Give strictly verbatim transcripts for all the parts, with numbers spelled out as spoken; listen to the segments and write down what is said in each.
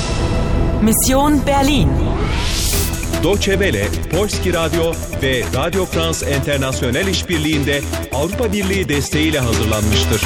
Mission Berlin. Deutsche Welle, Polski Radyo ve Radio France International işbirliğinde Avrupa Birliği desteğiyle hazırlanmıştır.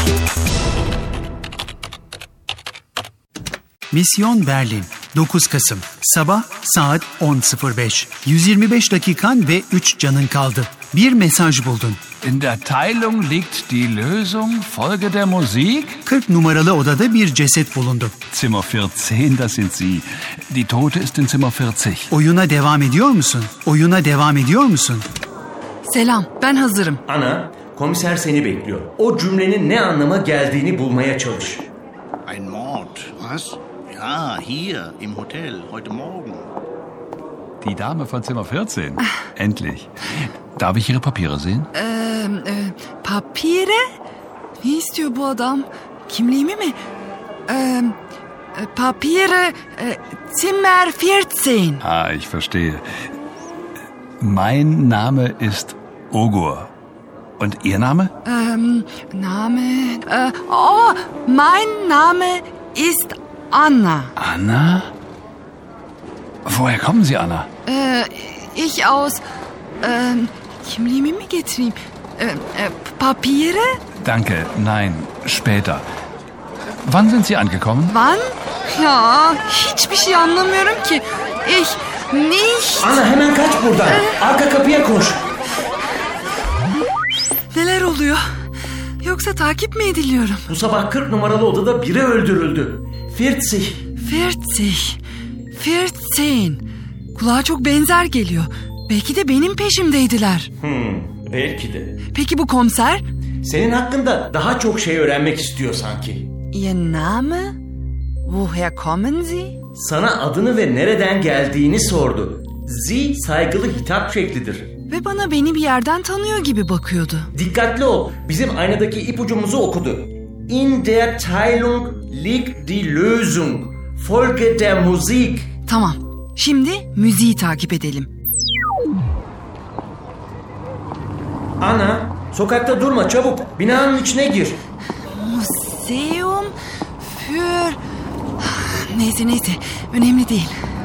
Mission Berlin, dokuz Kasım, sabah saat on sıfır beş. yüz yirmi beş dakikan ve üç canın kaldı. Bir mesaj buldun. In der Teilung liegt die Lösung. Folge der Musik. kırk numaralı odada bir ceset bulundu. Zimmer vierzehn, das sind Sie. Die Tote ist in Zimmer vierzig. Oyuna devam ediyor musun? Oyuna devam ediyor musun? Selam, ben hazırım. Ana, komiser seni bekliyor. O cümlenin ne anlama geldiğini bulmaya çalış. Ein Mord, was? Ja, hier, im Hotel, heute Morgen. Die Dame von Zimmer vierzehn. Endlich. Darf ich Ihre Papiere sehen? Ee, e, Papiere? Ne istiyor bu adam? Kimliğimi mi? Ee, e, Papiere, e, Zimmer vierzehn. Ah, ich verstehe. Mein Name ist Ogur. Und Ihr Name? Ähm, Name... Äh, oh, mein Name ist Anna. Anna? Woher kommen Sie, Anna? Äh, ich aus... Ähm, kimliğimi mi getireyim? Äh, äh, Papiere? Danke, nein, später. Wann sind Sie angekommen? Wann? Ya, hiçbir şey anlamıyorum ki. Ich nicht... Ana hemen kaç buradan. Ee... Arka kapıya koş. Neler oluyor? Yoksa takip mi ediliyorum? Bu sabah kırk numaralı odada biri öldürüldü. vierzig. vierzig. vierzehn. Kulağa çok benzer geliyor. Belki de benim peşimdeydiler. Hmm, belki de. Peki bu komiser? Senin hakkında daha çok şey öğrenmek istiyor sanki. Ihr Name? Woher kommen Sie? Sana adını ve nereden geldiğini sordu. Sie saygılı hitap şeklidir. Ve bana beni bir yerden tanıyor gibi bakıyordu. Dikkatli ol. Bizim aynadaki ipucumuzu okudu. In der Teilung liegt die Lösung. Folge der Musik. Tamam. Şimdi müziği takip edelim. Ana, sokakta durma çabuk. Binanın içine gir. Museum für... Neyse neyse. Önemli değil.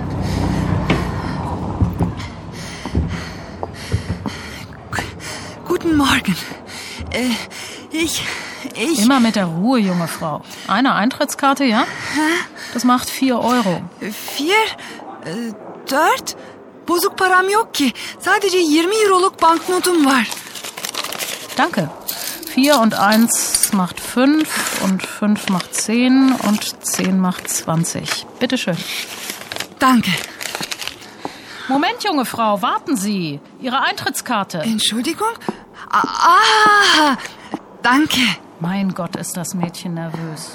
Guten Morgen. Äh, ich... Ich... Immer mit der Ruhe, junge Frau. Eine Eintrittskarte, ja? Hä? Das macht vier Euro. Vier? Äh, dört? Bozuk param yok ki. Sadece yirmi euroluk banknotum var. Danke. Vier und eins macht fünf und fünf macht zehn und zehn macht zwanzig. Bitte schön. Danke. Moment, junge Frau, warten Sie. Ihre Eintrittskarte. Entschuldigung? Ah, danke. Mein Gott, ist das Mädchen nervös.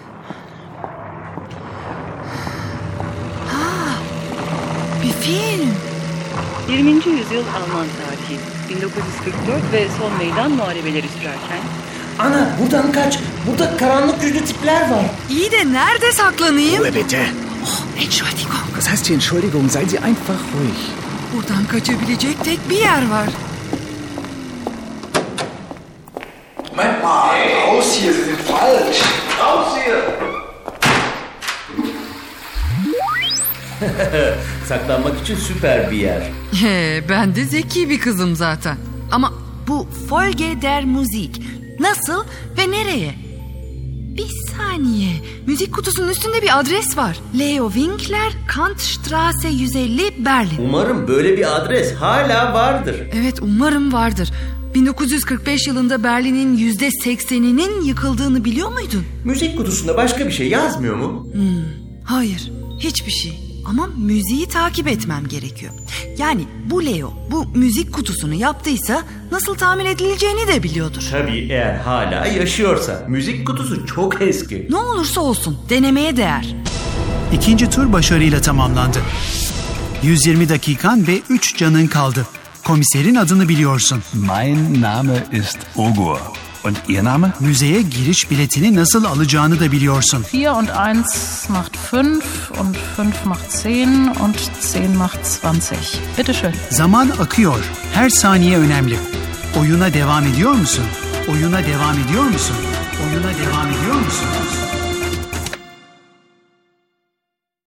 Ah, wie viel? yirminci yüzyıl Alman tarihi. bin dokuz yüz kırk dört ve son meydan muharebeleri sürerken... Ana buradan kaç. Burada karanlık yüzlü tipler var. İyi de nerede saklanayım? Ruhe bitte. Oh, Entschuldigung. Was heißt hier Entschuldigung? Seien Sie einfach ruhig. Buradan kaçabilecek tek bir yer var. Moment mal, raus hier, Sie sind falsch. Raus hier. Saklanmak için süper bir yer. He, ben de zeki bir kızım zaten. Ama bu Folge der Musik nasıl ve nereye? Bir saniye. Müzik kutusunun üstünde bir adres var. Leo Winkler, Kantstraße yüz elli, Berlin. Umarım böyle bir adres hala vardır. Evet, umarım vardır. bin dokuz yüz kırk beş yılında Berlin'in yüzde sekseninin yıkıldığını biliyor muydun? Müzik kutusunda başka bir şey yazmıyor mu? Hmm, hayır, hiçbir şey. Ama müziği takip etmem gerekiyor. Yani bu Leo bu müzik kutusunu yaptıysa nasıl tamir edileceğini de biliyordur. Tabii eğer hala yaşıyorsa. Müzik kutusu çok eski. Ne olursa olsun denemeye değer. İkinci tur başarıyla tamamlandı. yüz yirmi dakikan ve üç canın kaldı. Komiserin adını biliyorsun. Mein Name ist Ogur. Und Ihr Name? Müzeye giriş biletini nasıl alacağını da biliyorsun. Vier und eins macht fünf und fünf macht zehn und zehn macht zwanzig. Bitte schön. Zaman akıyor. Her saniye önemli. Oyuna devam ediyor musun? Oyuna devam ediyor musun? Oyuna devam ediyor musun?